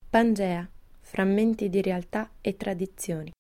Pangea, frammenti di realtà e tradizioni.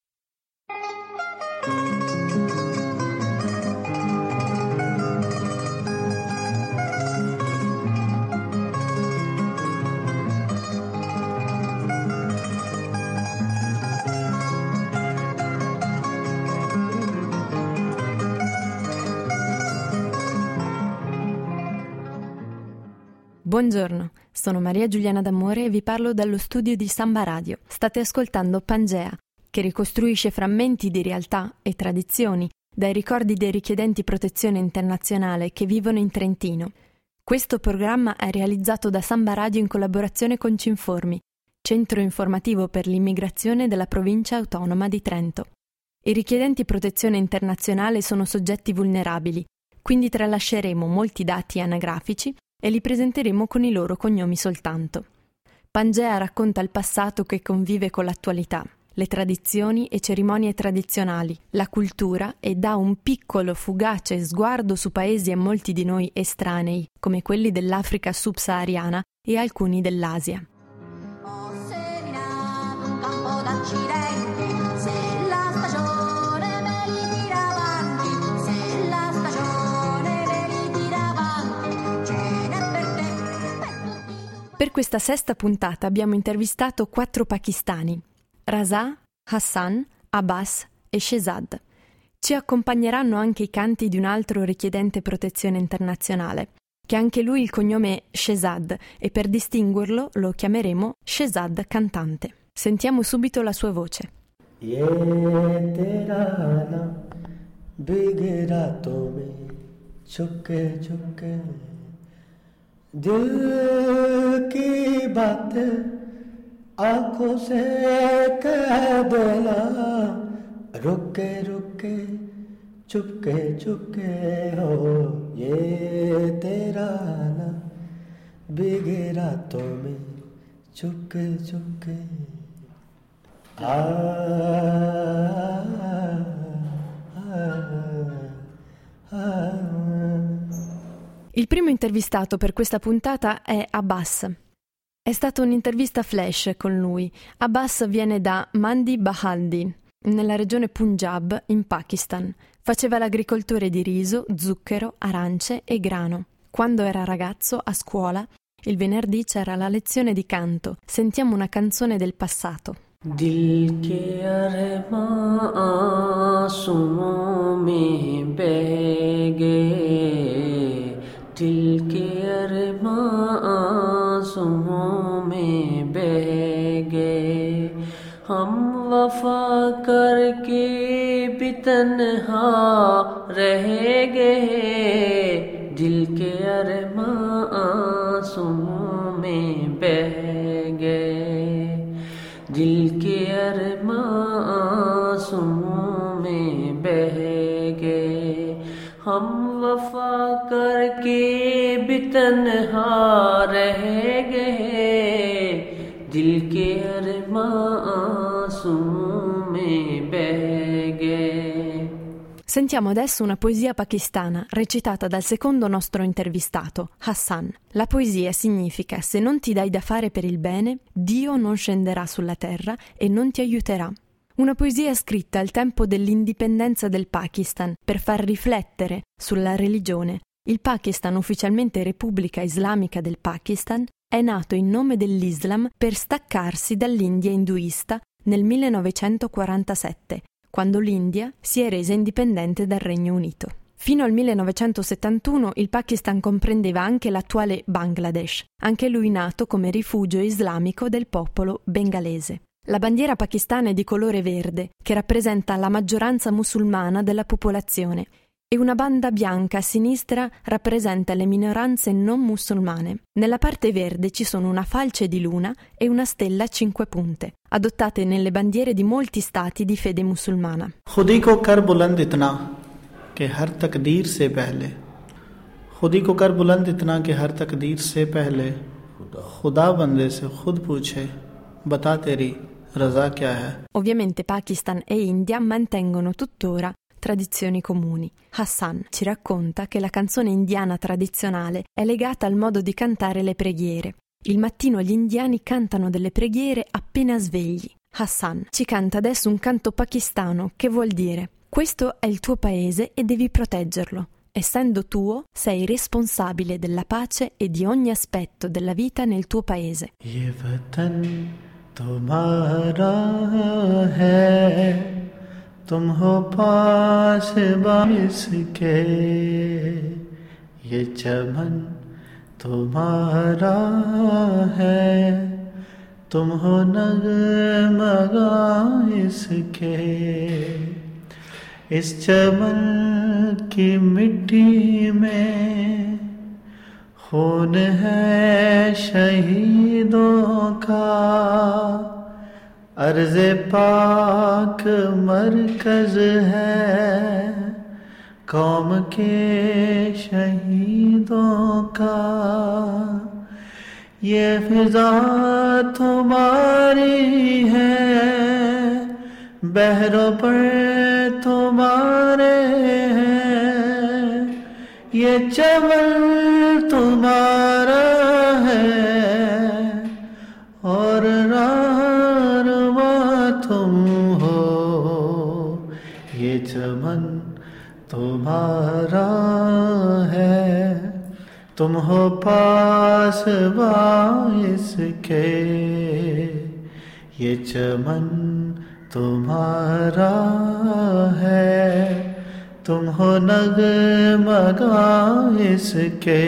Buongiorno, sono Maria Giuliana D'Amore e vi parlo dallo studio di Samba Radio. State ascoltando Pangea, che ricostruisce frammenti di realtà e tradizioni dai ricordi dei richiedenti protezione internazionale che vivono in Trentino. Questo programma è realizzato da Samba Radio in collaborazione con Cinformi, centro informativo per l'immigrazione della provincia autonoma di Trento. I richiedenti protezione internazionale sono soggetti vulnerabili, quindi tralasceremo molti dati anagrafici e li presenteremo con i loro cognomi soltanto. Pangea racconta il passato che convive con l'attualità, le tradizioni e cerimonie tradizionali, la cultura e dà un piccolo, fugace sguardo su paesi a molti di noi estranei, come quelli dell'Africa subsahariana e alcuni dell'Asia. Ho seminato un campo d'accidenti, se la stagione me li tira avanti, se la stagione me li tira avanti, ce n'è per te, per tutti. Per questa sesta puntata abbiamo intervistato 4 pakistani: Raza, Hassan, Abbas e Shehzad. Ci accompagneranno anche i canti di un altro richiedente protezione internazionale, che anche lui il cognome è Shehzad e per distinguerlo lo chiameremo Shehzad cantante. Sentiamo subito la sua voce. Ye tera na bigira to mein chupke chupke dil ki baat आँखों से कह देना रुके रुके चुपके चुपके हो ये तेरा ना भीगे रातों में चुपके Chupke Il primo intervistato per questa puntata è Abbas. È stata un'intervista flash con lui. Abbas viene da Mandi Bahaldi, nella regione Punjab, in Pakistan. Faceva l'agricoltore di riso, zucchero, arance e grano. Quando era ragazzo, a scuola, il venerdì c'era la lezione di canto. Sentiamo una canzone del passato. Dil ke armaan aansuon mein beh gaye, dil ke armaan aansuon mein beh gaye, hum wafa karke bhi tanha reh gaye, dil ke armaan aansuon mein beh gaye, दिल के अरमां आंसुओं में बह गए, हम वफा करके भी तन्हा रह गए, दिल के अरमां आंसुओं में बह गए. Sentiamo adesso una poesia pakistana recitata dal secondo nostro intervistato, Hassan. La poesia significa: se non ti dai da fare per il bene, Dio non scenderà sulla terra e non ti aiuterà. Una poesia scritta al tempo dell'indipendenza del Pakistan per far riflettere sulla religione. Il Pakistan, ufficialmente Repubblica Islamica del Pakistan, è nato in nome dell'Islam per staccarsi dall'India induista nel 1947, quando l'India si è resa indipendente dal Regno Unito. Fino al 1971 il Pakistan comprendeva anche l'attuale Bangladesh, anche lui nato come rifugio islamico del popolo bengalese. La bandiera pakistana è di colore verde, che rappresenta la maggioranza musulmana della popolazione, e una banda bianca a sinistra rappresenta le minoranze non musulmane. Nella parte verde ci sono una falce di luna e una stella a 5 punte, adottate nelle bandiere di molti stati di fede musulmana. खुदी को कर बुलंद इतना कि हर तकदीर से पहले, खुदी को कर बुलंद इतना कि हर तकदीर से पहले खुदा बंदे से खुद पूछे बता तेरी रज़ा क्या है. Ovviamente Pakistan e India mantengono tuttora tradizioni comuni. Hassan ci racconta che la canzone indiana tradizionale è legata al modo di cantare le preghiere. Il mattino gli indiani cantano delle preghiere appena svegli. Hassan ci canta adesso un canto pakistano che vuol dire: questo è il tuo paese e devi proteggerlo. Essendo tuo, sei responsabile della pace e di ogni aspetto della vita nel tuo paese. Ye vatan tumhara hai, tum ho paas iske. Ye chaman tumhara hai, tum ho nagmaga iske. इस चमन की मिट्टी में खून है शहीदों का, अर्ज़े पाक मरकज़ है कौम के शहीदों का। ये फिज़ा तुम्हारी है, बहरों पर तुम्हारे हैं, ये चमन तुम्हारा है और रारवा तुम हो। ये चमन तुम्हारा है, तुम हो पास इसके। ये चमन तुम्हारा है, तुम हो नगमगा इसके।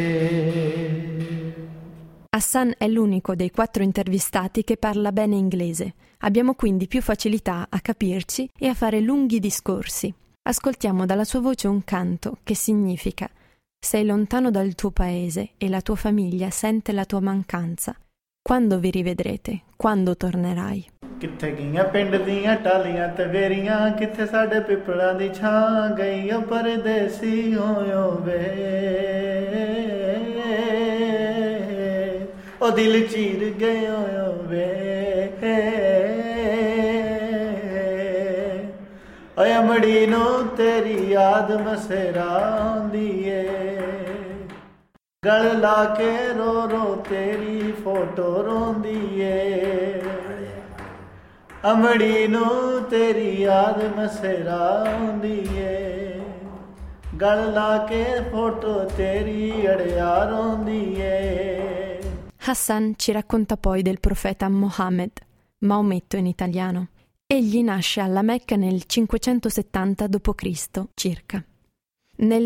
Hassan è l'unico dei 4 intervistati che parla bene inglese. Abbiamo quindi più facilità a capirci e a fare lunghi discorsi. Ascoltiamo dalla sua voce un canto che significa: sei lontano dal tuo paese e la tua famiglia sente la tua mancanza. Quando vi rivedrete? Quando tornerai? किथे गईयां पिंड दियां टालियां ते वेरियां, किथे साडे पिपड़ां दी छां गईयां परदेसी होयो वे। ओ दिल चीर गयो वे, ओ अमड़ी नो तेरी याद मसेरा आंदी ए, गल ला के रो रो तेरी फोटो रोंदी ए। अमड़ी नू तेरी याद मसेरा आंदी ए, गल ला के फोटो तेरी अड़िया रोंदी ए। Hassan ci racconta poi del profeta Mohammed, Maometto in italiano. Egli nasce alla Mecca nel 570 d.C. circa. Nel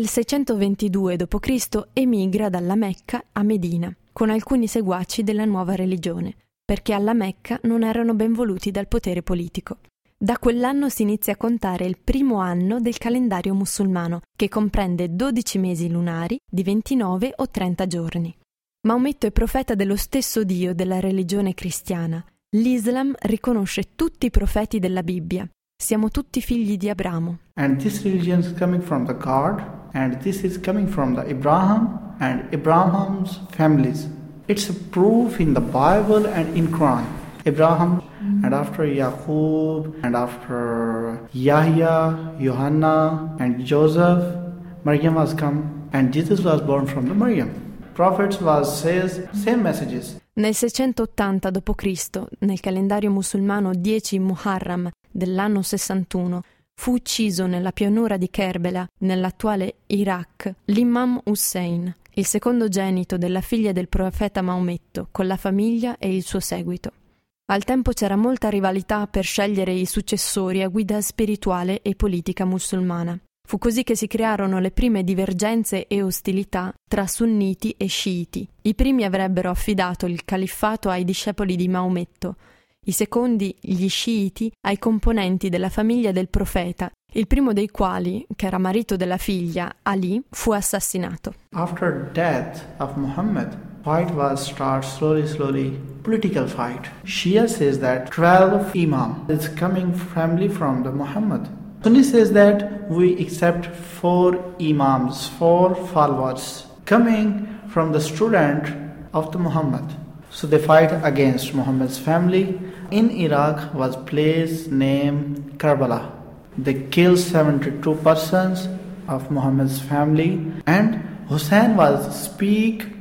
622 d.C. emigra dalla Mecca a Medina, con alcuni seguaci della nuova religione, perché alla Mecca non erano ben voluti dal potere politico. Da quell'anno si inizia a contare il primo anno del calendario musulmano, che comprende 12 mesi lunari di 29 o 30 giorni. Maometto è profeta dello stesso Dio della religione cristiana. L'Islam riconosce tutti i profeti della Bibbia. Siamo tutti figli di Abramo. And this religion is coming from the God, and this is coming from the Abraham and Abraham's families. It's a proof in the Bible and in Quran. Abraham and after Yaqub and after Yahya, Johanna and Joseph, Maryam was come and Jesus was born from the Maryam. Prophets says same messages. Nel 680 d.C., nel calendario musulmano 10 Muharram dell'anno 61, fu ucciso nella pianura di Kerbela, nell'attuale Iraq, l'imam Hussein, il secondogenito della figlia del profeta Maometto, con la famiglia e il suo seguito. Al tempo c'era molta rivalità per scegliere i successori a guida spirituale e politica musulmana. Fu così che si crearono le prime divergenze e ostilità tra sunniti e sciiti. I primi avrebbero affidato il califfato ai discepoli di Maometto, i secondi, gli sciiti, ai componenti della famiglia del profeta, il primo dei quali, che era marito della figlia, Ali, fu assassinato. After death of Muhammad, fight was slowly, political fight. Shia says that 12 Imam is coming family from the Muhammad. Sunni says that we accept 4 Imams, 4 followers coming from the student of the Muhammad. So they fight against Muhammad's family. In Iraq was place named Karbala. They killed 72 persons of Muhammad's family, and Hussein was speak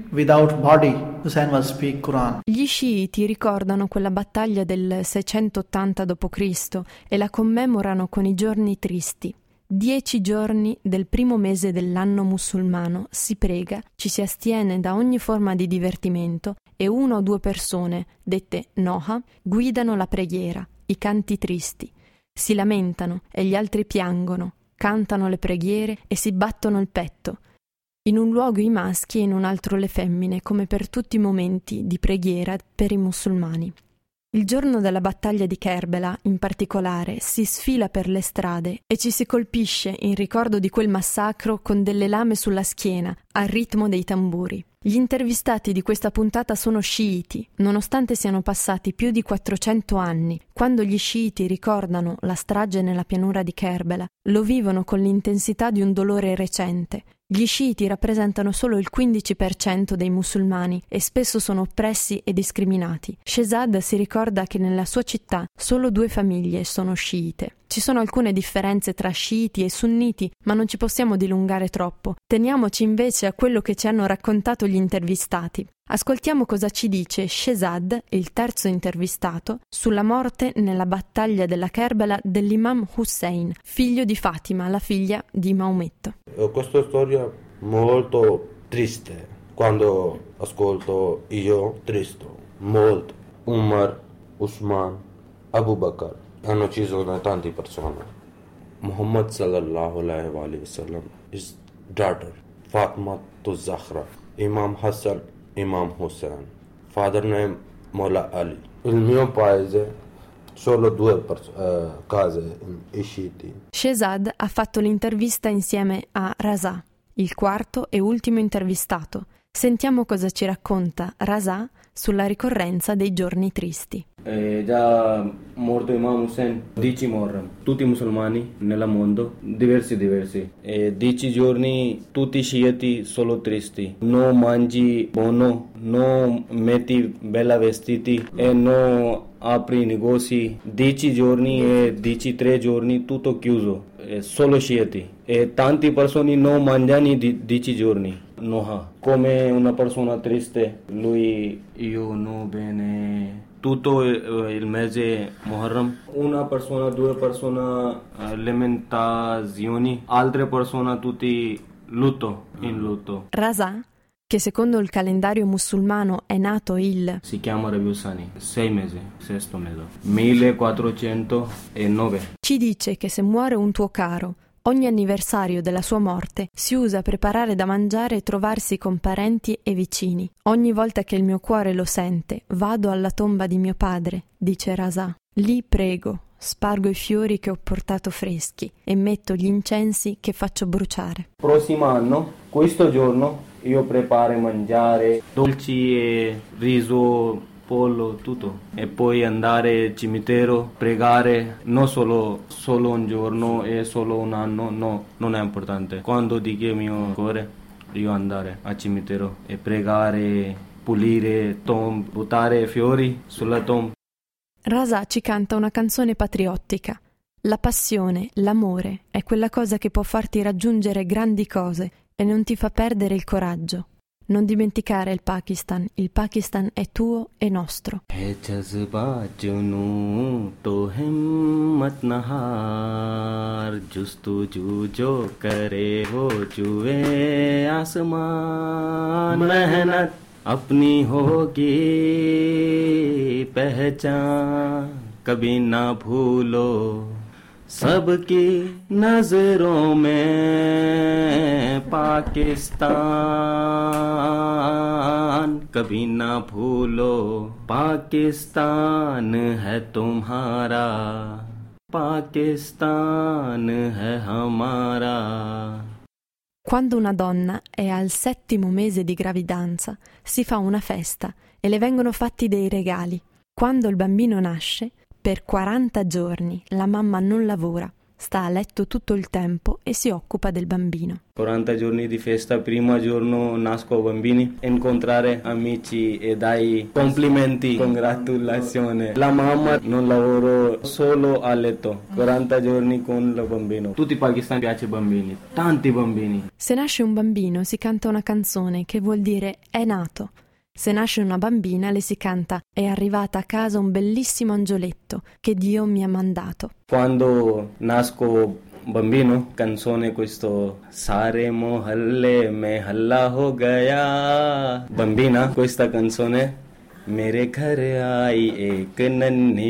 without body, Hussein will speak Quran. Gli sciiti ricordano quella battaglia del 680 d.C. e la commemorano con i giorni tristi. 10 giorni del primo mese dell'anno musulmano si prega, ci si astiene da ogni forma di divertimento e 1 o 2 persone, dette noha, guidano la preghiera, i canti tristi. Si lamentano e gli altri piangono, cantano le preghiere e si battono il petto. In un luogo i maschi e in un altro le femmine, come per tutti i momenti di preghiera per i musulmani. Il giorno della battaglia di Kerbela, in particolare, si sfila per le strade e ci si colpisce in ricordo di quel massacro con delle lame sulla schiena, al ritmo dei tamburi. Gli intervistati di questa puntata sono sciiti, nonostante siano passati più di 400 anni. Quando gli sciiti ricordano la strage nella pianura di Kerbela, lo vivono con l'intensità di un dolore recente. Gli sciiti rappresentano solo il 15% dei musulmani e spesso sono oppressi e discriminati. Shehzad si ricorda che nella sua città solo 2 famiglie sono sciite. Ci sono alcune differenze tra sciiti e sunniti, ma non ci possiamo dilungare troppo. Teniamoci invece a quello che ci hanno raccontato gli intervistati. Ascoltiamo cosa ci dice Shehzad, il terzo intervistato, sulla morte nella battaglia della Kerbela dell'imam Hussein, figlio di Fatima, la figlia di Maometto. Questa storia molto triste. Quando ascolto io, triste, molto. Umar, Usman, Abu Bakr hanno ucciso tante persone. Muhammad sallallahu alaihi wasallam, his daughter Fatima Zahra, Imam Hassan, Imam Hussein, father name Mola Ali. Il mio paese solo 2 case sciiti. Shehzad ha fatto l'intervista insieme a Raza, il quarto e ultimo intervistato. Sentiamo cosa ci racconta Raza sulla ricorrenza dei giorni tristi. Già morto Imam Hussein, 10 Muharram, tutti i musulmani nel mondo, diversi. 10 giorni tutti sciiti solo tristi, non mangi buono, non metti bella vestiti e non apri negozi. 10 giorni e 13 giorni tutto chiuso, solo sciiti e tante persone non mangiano 10 giorni. No, come una persona triste, lui io non bene tutto il mese Muharram. Una persona, 2 persone lamentazioni, altre persone tutti in lutto. Raza, che secondo il calendario musulmano è nato si chiama Rabiul Sani, 6 mesi, 6º mese, 1409. Ci dice che se muore un tuo caro, ogni anniversario della sua morte si usa preparare da mangiare e trovarsi con parenti e vicini. Ogni volta che il mio cuore lo sente, vado alla tomba di mio padre, dice Raza. Lì prego, spargo i fiori che ho portato freschi e metto gli incensi che faccio bruciare. Prossimo anno, questo giorno, io preparo mangiare, dolci e riso, pollo, tutto. E poi andare al cimitero, pregare, non solo un giorno e solo un anno, no, non è importante. Quando dico il mio cuore, io andare al cimitero e pregare, pulire tombe, buttare fiori sulla tomba. Raza ci canta una canzone patriottica. La passione, l'amore è quella cosa che può farti raggiungere grandi cose e non ti fa perdere il coraggio. Non dimenticare il Pakistan è tuo e nostro. Hai jazba junun to himmat nahar, justuju jo kare wo juwe asman, mehnat apni hogi pehchan, kabhi na bhulo. सबकी नजरों में पाकिस्तान, कभी ना भूलो पाकिस्तान है तुम्हारा, पाकिस्तान है हमारा. Quando una donna è al 7° mese di gravidanza, si fa una festa e le vengono fatti dei regali. Quando il bambino nasce, per 40 giorni la mamma non lavora sta a letto tutto il tempo e si occupa del bambino. 40 giorni di festa, primo giorno nasco bambini, incontrare amici e dai complimenti, congratulazioni. La mamma non lavora, solo a letto, 40 giorni con il bambino. Tutti i pakistani piace bambini, tanti bambini. Se nasce un bambino si canta una canzone che vuol dire è nato. Se nasce una bambina le si canta è arrivata a casa un bellissimo angioletto che Dio mi ha mandato. Quando nasco bambino, canzone questo Sare mohalle mein halla ho gaya. Bambina, questa canzone Mere ghar aayi ek nanni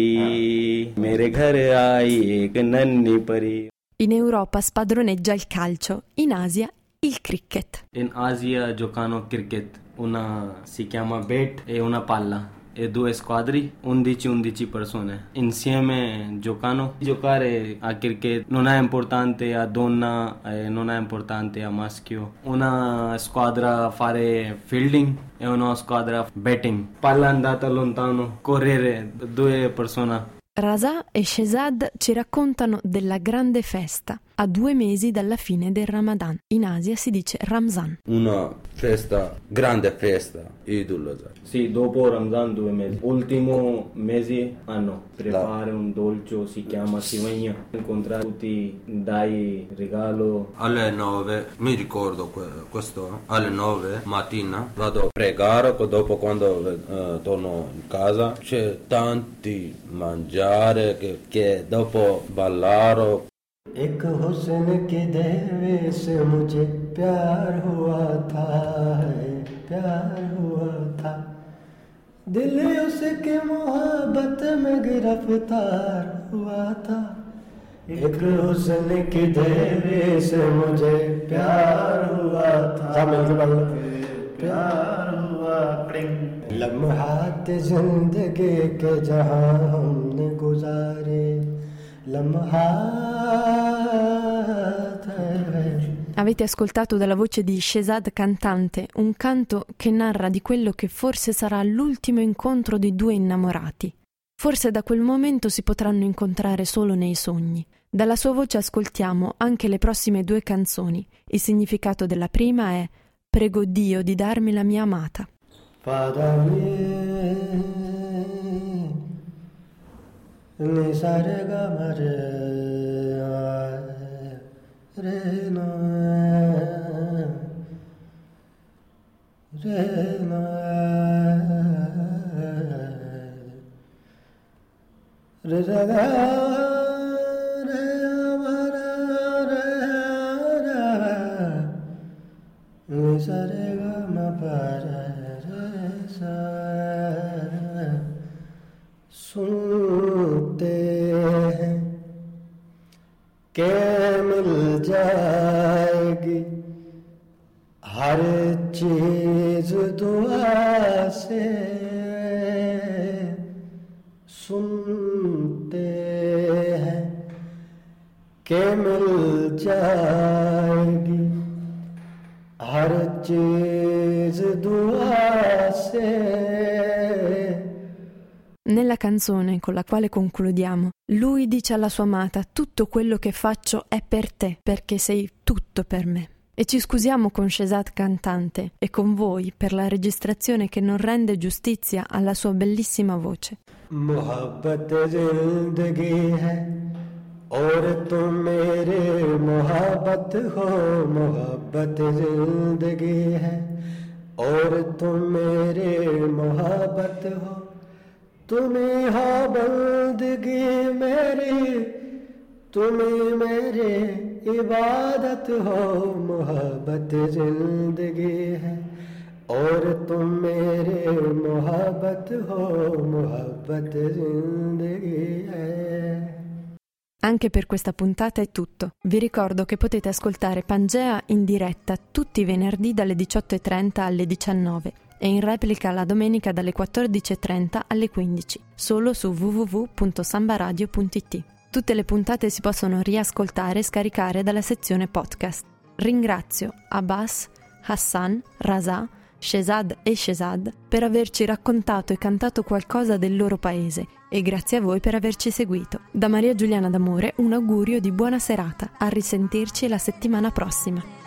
pari, mere ghar aayi ek nanni pari. In Europa spadroneggia il calcio, in Asia il cricket. In Asia giocano cricket, una si chiama bat e una palla. E 2 squadre, 11 persone insieme giocano. Giocare a cricket non è importante a donna, non è importante a maschio. Una squadra fare fielding e una squadra batting. Palla andata lontano, correre 2 persone. Raza e Shehzad ci raccontano della grande festa a 2 mesi dalla fine del Ramadan. In Asia si dice Ramzan. Una festa, grande festa, Eid al-Adha. Sì, dopo Ramzan 2 mesi. Ultimo mese hanno prepare un dolce, si chiama Sivagna. Incontrare tutti, dai regalo. Alle 9, mi ricordo questo, alle 9 mattina vado a pregare, dopo quando torno in casa c'è tanti mangiare che dopo ballare. एक हुस्न के देवे से मुझे प्यार हुआ था, प्यार हुआ था, दिल उसके मोहब्बत में गिरफ्तार हुआ था। एक हुस्न के देवे से मुझे प्यार हुआ था, प्यार हुआ। लम्हात जिंदगी के जहां हमने गुजारे, Avete ascoltato dalla voce di Shehzad cantante un canto che narra di quello che forse sarà l'ultimo incontro di 2 innamorati. Forse da quel momento si potranno incontrare solo nei sogni. Dalla sua voce ascoltiamo anche le prossime 2 canzoni. Il significato della prima è «Prego Dio di darmi la mia amata». Ni sa re ga ma re no re no re ga re ma re ni sa re ga ma pa re sa. सुनते हैं के मिल जाएगी हर चीज दुआ से, सुनते हैं के मिल जाएगी हर चीज दुआ से. Nella canzone con la quale concludiamo, lui dice alla sua amata: tutto quello che faccio è per te, perché sei tutto per me. E ci scusiamo con Shehzad cantante e con voi per la registrazione che non rende giustizia alla sua bellissima voce. मोहब्बत जिंदगी है और तुम मेरे मोहब्बत हो, मोहब्बत जिंदगी है और तुम मेरे मोहब्बत हो, तुम्हें हो बंदगी मेरी, तुम्हें मेरे इबादत हो, मोहब्बत जिंदगी है और तुम मेरे मोहब्बत हो, मोहब्बत जिंदगी है. Anche per questa puntata è tutto. Vi ricordo che potete ascoltare Pangea in diretta tutti i venerdì dalle 18:30 alle 19 e in replica la domenica dalle 14:30 alle 15, solo su www.sambaradio.it. Tutte le puntate si possono riascoltare e scaricare dalla sezione podcast. Ringrazio Abbas, Hassan, Raza, Shehzad e Shehzad, per averci raccontato e cantato qualcosa del loro paese e grazie a voi per averci seguito. Da Maria Giuliana D'Amore un augurio di buona serata, a risentirci la settimana prossima.